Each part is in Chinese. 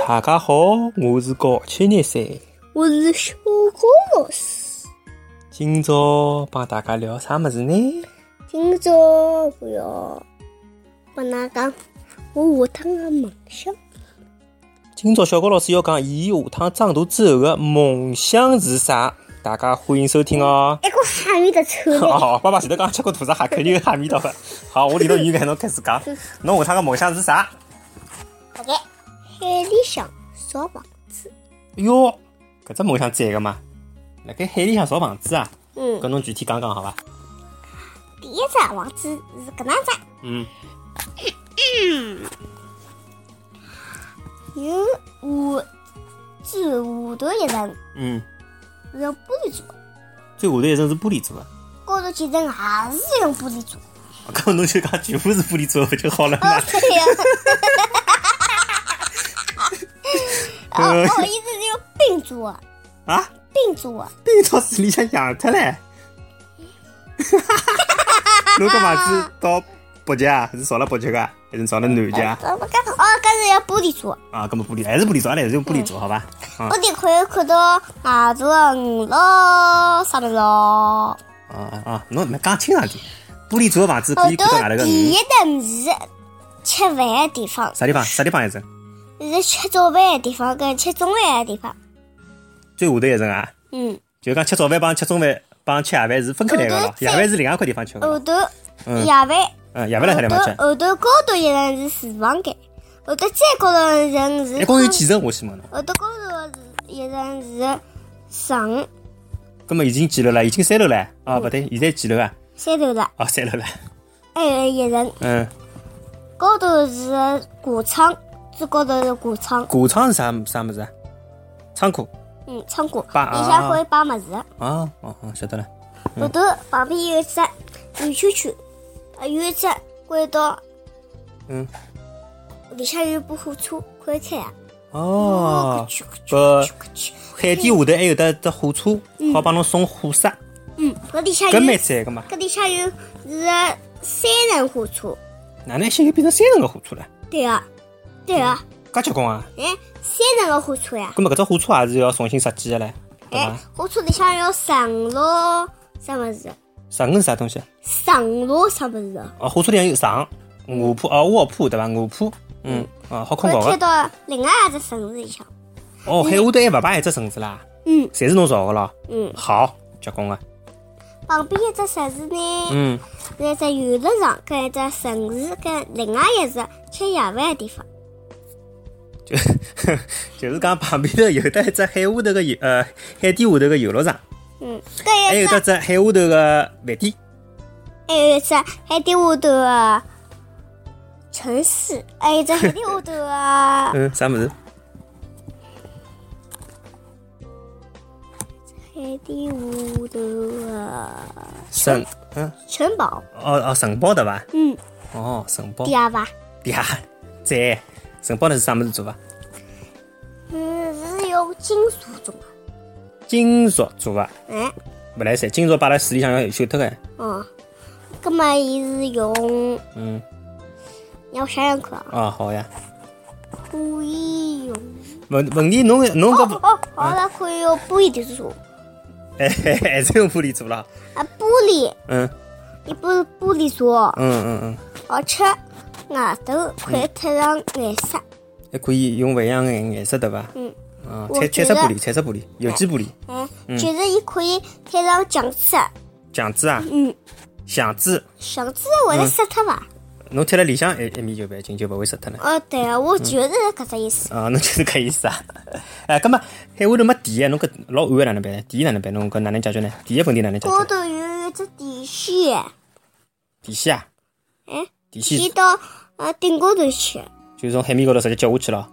大家好，我是高723， 我是小高老师。 今朝帮大家聊啥么子呢？ 今朝我要帮㑚讲我下趟的梦想。 今朝小高老师要讲伊下趟长大之后的梦想是啥？大家欢迎收听哦。 一个哈密的臭的。 好，爸爸前头讲吃过兔子哈，肯定有哈密到的。好，我离头语言侬开始讲，侬下趟的梦想是啥？ 好的，海里向造房子。 哟，搿只梦想赞个嘛？辣盖海里向造房子啊？搿侬具体讲讲好伐？ 第一只房子是搿能只。有最下头一层，是用玻璃做的。 最下头一层是玻璃做的。 高头几层也是用玻璃做的。 搿侬就讲全部是玻璃做的不就好了嘛？ 对呀。意思是用冰做的。 啊？ 冰做的。 冰到水里向养脱唻。侬搿房子到北极啊？是造了北极个，还是造了南极啊？ 搿是要玻璃做的。 啊，搿么玻璃还是玻璃做，阿拉还是用玻璃做，好伐？ 玻璃可以看到外头的鱼咯，啥物事咯？ 侬讲清爽点。玻璃做的房子可以看到外头个鱼。 第一层是吃饭的地方。 啥地方？啥地方一层？ 是吃早饭的地方跟吃中饭的地方。 最下头一层啊？就讲吃早饭帮吃中饭帮吃夜饭是分开来个咯，夜饭是另外一块地方吃个。 后头夜饭。 夜饭辣啥地方吃？ 后头高头一层是厨房间，后头再高头一层是。 一共有几层？我先问侬。 后头高头一层是床。 搿么已经几楼了？已经3楼了。不对，现在几楼啊 ？3楼了。 3楼了。 还有一层。高头是挂窗，最高头是挂窗。 挂窗是啥物事啊？仓库。 仓库。里向可以摆物事。 晓得了。 后头旁边有一只圆圈圈，有一只轨道。里向有部火车，可以开啊。 海底下头还有得只火车，好帮侬送货色。 搿里向有。 搿蛮赞个嘛。 搿里向有是3层火车。 哪能现在变成3层个火车了？ 对啊。 介结棍啊 ！3层个火车呀。 搿么搿只火车也是要重新设计个唻，对伐？ 火车里向要上路啥物事？ 上是啥东西？ 上路啥物事？ 火车里向有上卧铺卧铺对伐？卧铺，好困觉个。 开到另外一只城市里向。 海下头还勿摆一只城市啦？侪是侬造个咯？好，结棍个。 旁边一只城市呢？是一只游乐场，跟一只城市，跟另外一只吃夜饭的地方。 就是讲旁边头有得一只海下头个海底下头个游乐场。还有得只海下头个饭店。 还有一只海底下头个城市，还有一只海底下头个啥物事？ 海底下头个城堡。 城堡对伐？城堡。 嗲伐？ 嗲，赞。城堡呢是啥物事做伐？ 是用金属做的。 金属做的。勿来三，金属摆辣水里向要锈脱个。 葛末伊是用。让我想想看啊。 好呀。 可以用。 问题侬搿。 好了，可以用玻璃做。 还是用玻璃做了。 玻璃。伊不是玻璃做。而且外头可以贴上颜色。 还可以用勿一样的颜色对伐？彩色玻璃，有机玻璃。 就是伊可以贴上墙纸。 墙纸啊？墙纸会得湿脱伐？ 侬贴辣里向一面就办紧，就勿会湿脱了。 对啊，我就是搿只意思。 侬就是搿意思啊？葛末海下头没电，侬搿老暗个哪能办呢？电哪能办？侬搿哪能解决呢？电个问题哪能解决？ 高头有一只电线。 电线啊？电线。 接到顶高头去。 就从海面高头直接接下去了。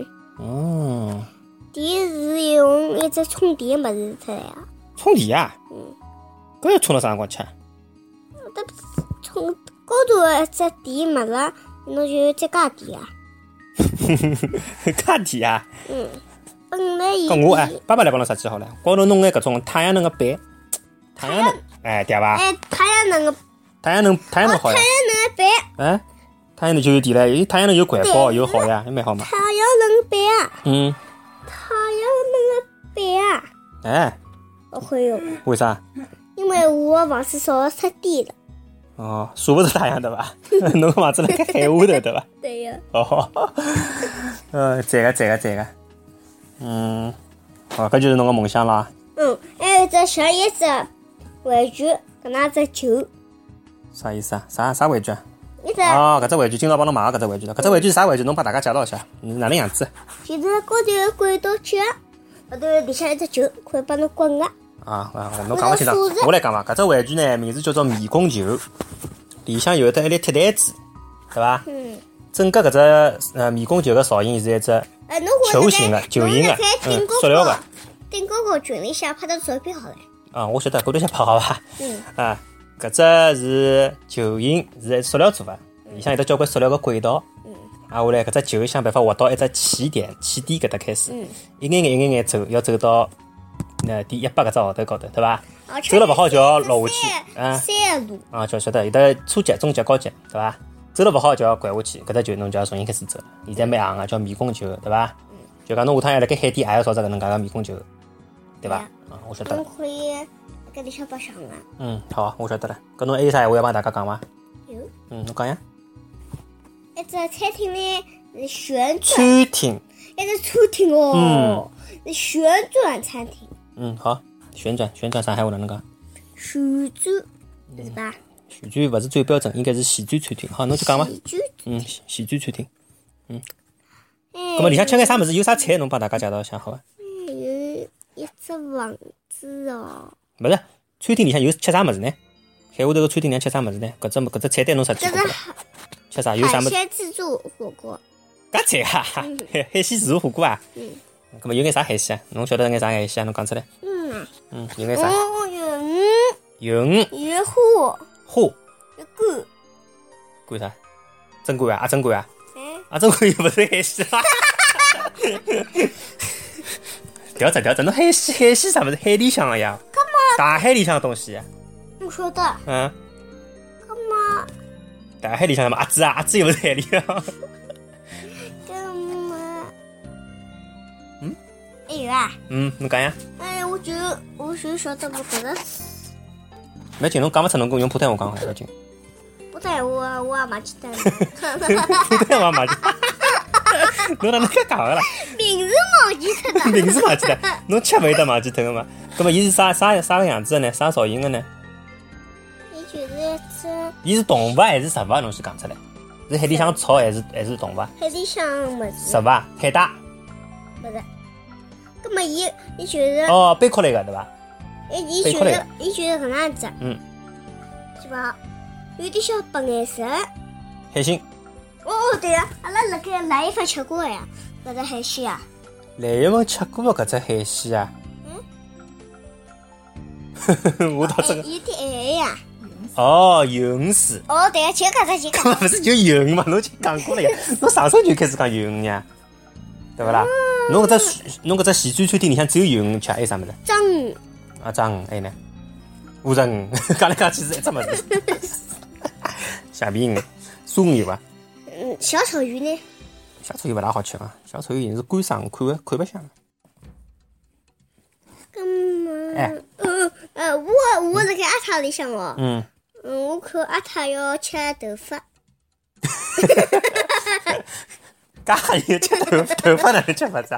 电是用一只充电物事出来啊。 充电啊？搿要充到啥辰光去？ 充高头一只电物事，侬就再加电啊。 加电啊？ 本来伊。 搿我爸爸来帮侬设计好了，高头弄眼搿种太阳能个板，太阳能，对伐？ 太阳能个。 太阳能好呀。 太阳能个板。 太太阳能就有电了，太阳能有环保又好呀，也蛮好嘛。 太阳能板啊。太阳能的板啊。 哎。 我会有。 为啥？ 因为我房子烧失电了。 哦，晒不着太阳对伐？侬个房子辣盖海下头对伐？ 对呀。 哦。赞个。搿就是侬个梦想啦。 还有只小叶子玩具，搿能只球。 啥意思啊？啥玩具啊？搿只玩具今朝帮侬买个搿只玩具了。搿只玩具是啥玩具？侬帮大家介绍一下，哪能样子？ 就是高头有轨道脚，后头里向一只球，可以帮侬滚个。 侬讲勿清楚，我来讲伐。搿只玩具呢，名字叫做迷宫球，里向有得一粒铁蛋子，对伐？整个搿只迷宫球个造型是一只球形的、球形的，塑料的。 顶高高群里向拍的照片好了。 我晓得，过头先拍好伐？搿只是球形，是塑料做的，里向有得交关塑料个轨道。下来搿只球想办法滑到一只起点搿搭开始，一眼眼走，要走到第100搿只号头高头，对伐？走了勿好就要落下去。 山路。 就晓得有得初级、中级、高级，对伐？走了勿好就要拐下去，搿只球侬就要重新开始走了。现在蛮行个，叫迷宫球，对伐？就讲侬下趟要辣盖海底也要造只搿能介个迷宫球，对伐？我晓得了。 侬可以搿里向白相啊。 好，我晓得了。搿侬还有啥闲话要帮大家讲伐？ 有。 侬讲呀。 一只餐厅呢是旋转。 餐厅。 一只餐厅哦。是旋转餐厅。 好，旋转啥闲话哪能讲？ 旋转，是吧？ 旋转勿是最标准，应该是旋转餐厅。好，侬去讲伐？旋转餐厅。咁么里向吃眼啥物事？有啥菜？侬帮大家介绍一下，好伐？ 有一只房子哦。 勿是，餐厅里向有吃啥物事呢？海下头个餐厅里向吃啥物事呢？搿只菜单侬啥去过？吃啥？有啥物事？ 海鲜自助火锅。 搿菜啊，海鲜自助火锅啊。咁么有眼啥海鲜啊？侬晓得眼啥海鲜啊？侬讲出来。有眼啥？有鱼。 有虾。 虾。 有干。 干啥？蒸干啊？蒸干啊？蒸干又勿是海鲜啦。调整，侬海鲜啥物事？海里向个呀。大海里向个东西。 我晓得。 干嘛？ 大海里向什么？鸭子啊？鸭子又勿是海里向。 干嘛？还有啊。 侬讲呀。 我就晓得我搿个。 没劲，侬讲勿出，侬用普通话讲好了，紧。 普通话我也忘记脱了。 普通话忘记。侬哪能介讲个啦？ 名字忘记脱了。 名字忘记脱，侬吃勿会得忘记脱个嘛？葛末伊是啥个样子的呢？啥造型个呢？ 伊就是一只。 伊是动物还是植物？侬先讲出来。是海里向草还是动物？ 海里向物事。 植物？海带？ 勿是。葛末伊就是。 贝壳类个对伐？ 伊就是搿能样子。是吧？有点小白颜色。 海星。 对呀，阿拉辣盖来一份吃过呀，搿只海鲜啊。 来一份吃过搿只海鲜啊。我倒真个。 有点咸呀。 鱿鱼丝。 对呀，就搿只。 勿是就鱿鱼嘛？侬就讲过了呀。侬上手就开始讲鱿鱼呀，对勿啦？侬搿只西餐餐厅里向只有鱿鱼吃，还有啥物事？ 章鱼。 章鱼，还有呢？乌贼鱼，讲来讲去是一只物事。橡皮鱼、松鱼伐？ 小丑鱼呢？ 小丑鱼勿大好吃啊，小丑鱼是干生，看勿香。 干嘛？我辣盖阿塔里向哦。我看阿塔要吃头发。 介有吃头发哪能吃法子啊？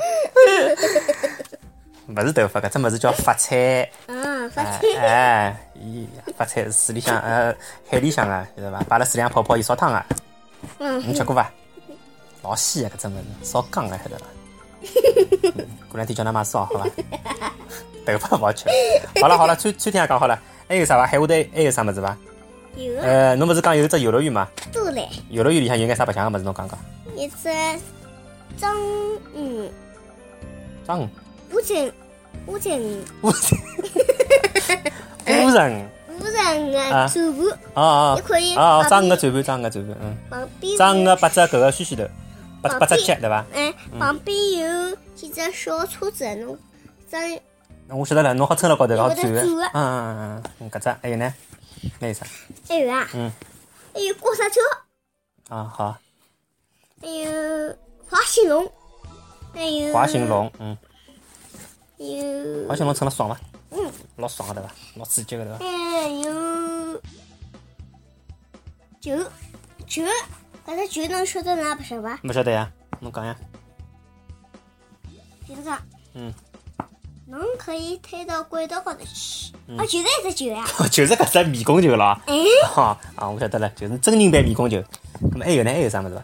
勿是头发，搿只物事叫发菜。 发菜。 发菜是水里向海里向个，晓得伐？摆辣水里向泡伊烧汤啊。你吃过伐？老鲜个搿只物事，烧缸个晓得伐？过两天叫㑚买烧好伐？头发勿好吃。好了，餐厅也讲好了，还有啥伐？海下头还有啥物事伐？ 有。 侬勿是讲有只游乐园吗？ 对嘞。 游乐园里向有眼啥白相个物事？侬讲讲。 一只章鱼。 章鱼。 乌贼鱼。 乌贼鱼。 乌贼个嘴巴。 你可以。 章鱼个嘴巴。 旁边。 章鱼个8只搿个须须头，8只脚对伐？ 旁边有几只小车子，侬张。 我晓得了，侬好撑辣高头，好转个。搿只还有呢？还有啥？ 还有啊。还有过山车。 啊，好。 还有花兴隆，还有花兴隆， 有花兴隆称了爽伐？老爽个对伐？老刺激个对伐？ 还有酒，搿只酒侬晓得哪不晓得伐？ 勿晓得呀，侬讲呀。 就是讲，侬可以推到轨道高头去。就是一只酒呀。 就是搿只迷宫球了。 哎。 我晓得了，就是真人版迷宫球。咁么还有呢？还有啥物事伐？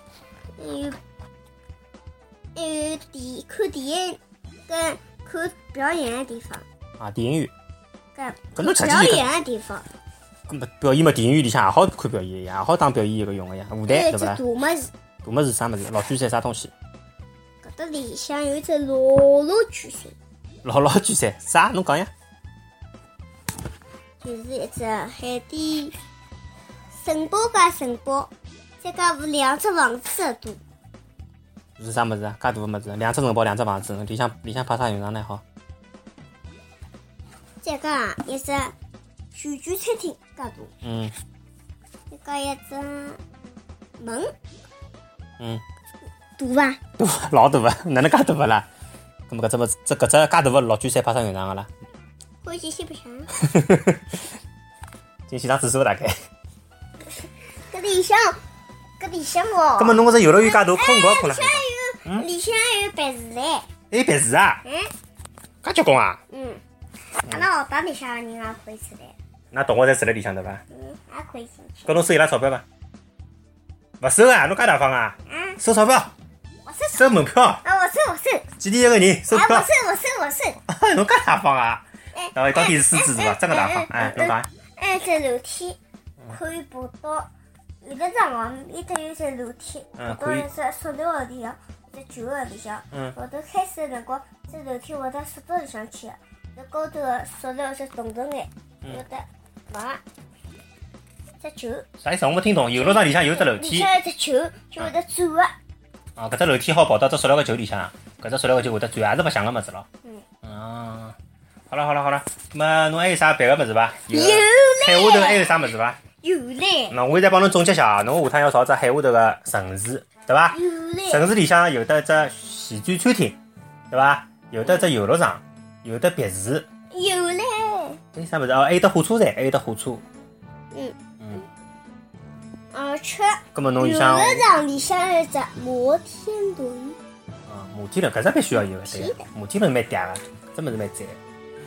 还有看电影跟看表演的地方。 啊，电影院。 搿侬表演的地方。 咁么表演嘛，电影院里向也好看表演，也好当表演一个用个呀，舞台对伐？ 大物事。 大物事啥物事？老巨山啥东西？ 搿搭里向有一只老巨山。 老巨山啥？侬讲呀？ 就是一只海底城堡加城堡，再加两只房子的大。 是啥物事啊？介大个物事，两只城堡，两只房子，里向派啥用场呢？好。 再加一只旋转餐厅，介大。再加一只门。大伐？ 大，老大个，哪能介大个啦？咁么搿只物事，搿只介大个老巨山派啥用场个啦？ 可以进去白相。 进去上厕所大概。 搿里向哦。 咁么侬搿只游乐园介大，困觉困了。 里向还有办事唻。 还有办事啊？介结棍啊？ 阿拉学堂里向个人也可以出来。 那同学侪住辣里向对伐？ 也可以进去。 搿侬收伊拉钞票伐？勿收啊！侬介大方啊？收钞票。 我收。 收门票。 我收。 几钿一个人？收票。 我收。 侬介大方啊？到底是狮子是伐？真个大方。侬讲。 只楼梯可以爬到有的张哦，里头有只楼梯，爬到一只塑料个里向，一只旧个里向。后头开始个辰光，这楼梯会得缩到里向去个，这高头个塑料是动动眼，有的往只球。 啥意思？我没听懂。游乐场里向有只楼梯。 里向有只球，就会得转个。 搿只楼梯好跑到只塑料个球里向，搿只塑料个球会得转，也是白相个物事咯。好了，咁么侬还有啥别个物事伐？ 有海下头还有啥物事伐？ 有嘞。 那我现在帮侬总结下，侬下趟要找只海下头个城市，对伐？ 有嘞。 城市里向有得只旋转餐厅，对伐？有得只游乐场，有得别墅。 有嘞。 还有啥物事？还有得火车站，还有得火车。 而且。 咁么侬游乐场里向有只摩天轮。 摩天轮搿只必须要有个，对个。摩天轮蛮嗲个，搿物事蛮赞。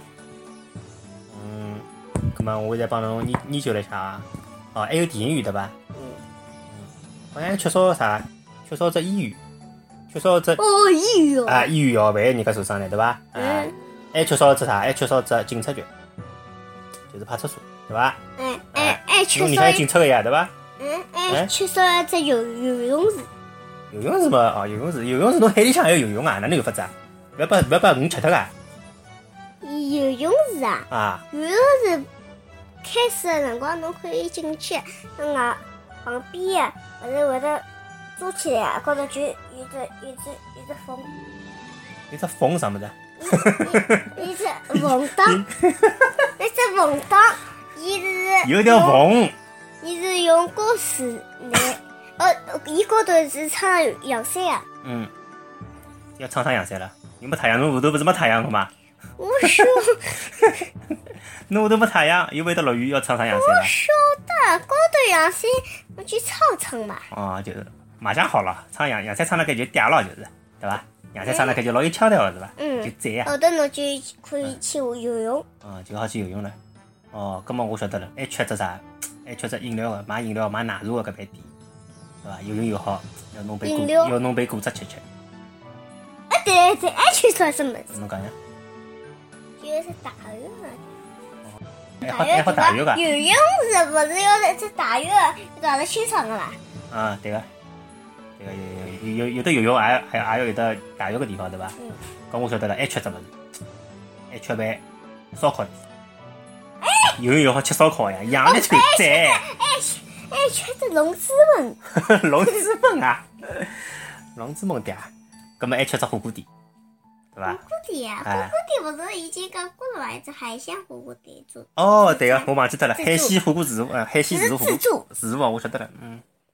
咁么我现在帮侬研究了一下啊。还有电影院对伐？好像缺少啥？缺少只医院，缺少只医院啊，医院要万一人家受伤了对伐？还缺少只啥？还缺少只警察局，就是派出所对伐？ 缺少。 侬里向有警察个呀对伐？ 缺少只游泳池。 游泳池嘛，游泳池侬海里向还要游泳啊？哪能有法子啊？勿要把鱼吃脱个。 游泳池啊？游泳池开始的辰光侬可以进去，那外旁边勿是会得做起来，高头就有只缝。 有只缝啥物事？ 一只缝档，一只缝档，伊是有条缝。 伊是用高水来，伊高头是撑阳伞啊。 要撑上阳伞了。有没太阳？侬下头不是没太阳个吗？ 我说。 侬下头没太阳，又会得落雨，要撑上阳伞了。 我晓得，高头阳伞我去撑嘛。 就是马上好了，撑阳伞撑了盖就嗲了，就是对伐？阳伞撑了盖就老有腔调个是伐？就赞呀。 后头侬就可以去游泳。 就好去游泳了。葛末我晓得了，还缺只啥？还缺只饮料个，买饮料买奶茶个搿爿店，对伐？游泳又好，要弄杯果汁吃。 对，还缺少什么？ 侬讲呀？ 就是打浴个。还好打浴个。 游泳池不是要只打浴，打得清爽个啦。 对个。有的游泳还要有的打浴个地方，对伐？搿我晓得了，还缺只物事，还缺爿烧烤店。游泳又好吃烧烤呀，养了就赞。 还缺只龙之门。 龙之门啊，龙之门对啊。搿么还缺只火锅店，对伐？ 火锅店啊，火锅店不是已经讲过了伐？一只海鲜火锅店做。 对个，我忘记脱了，海鲜火锅自助，海鲜自助火锅自助我晓得了。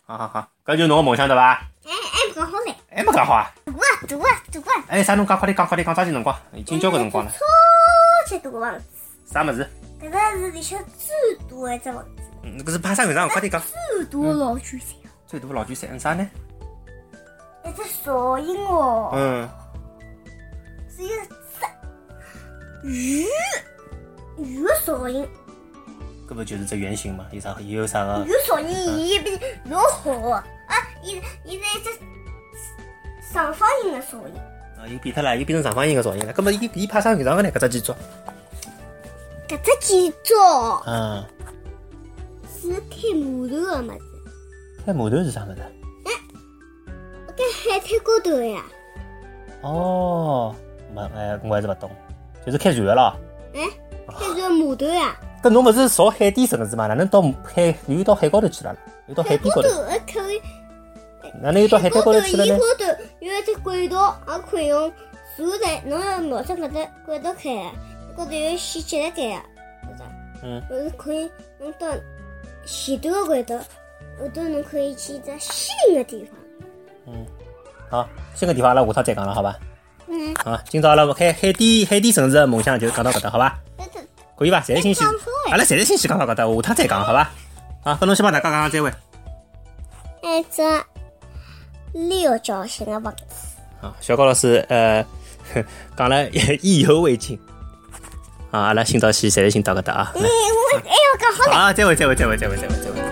好，搿就是侬个梦想对伐？ 还没讲好唻。 还没讲好啊？ 大啊！ 哎，啥侬讲？快点讲，抓紧辰光，已经交关辰光了。 超级大个房子。 啥物事？ 搿个是里向最大一只房子。 搿是派上用场，快点讲。 最大老巨山。 最大老巨山啥呢？ 一只噪音哦。是一只鱼的噪音。 搿不就是只圆形嘛？有啥个？有噪音，伊比老好啊！伊是一只长方形的噪音。 又变脱了，又变成长方形的噪音了。搿么伊派上用场个呢？搿只建筑？ 搿只建筑。是开码头个物事。 开码头是啥物事？ 在海滩高头呀。 哦，我还是勿懂，就是开船个咯。 开船码头呀。 搿侬勿是造海底城市嘛？哪能到海又到海高头去了？又到海边高头？ 可以。 哪能又到海滩高头去了呢？ 高头有一只轨道，也可以用船在，侬要瞄准搿只轨道开，高头有线接辣盖啊，是可以用到前头个轨道，后头侬可以去一只新的地方。 好，新的地方阿拉下趟再讲了，好吧？好，今朝阿拉开海底城市的梦想就讲到搿搭，好吧？可以伐？侪是信息，阿拉侪是信息讲到搿搭，下趟再讲，好吧？好，跟侬先帮大家讲再会。 一只六角形的房子。 小高老师讲了意犹未尽。阿拉今朝先侪是先到搿搭啊。 我还要讲好了。 好，再会。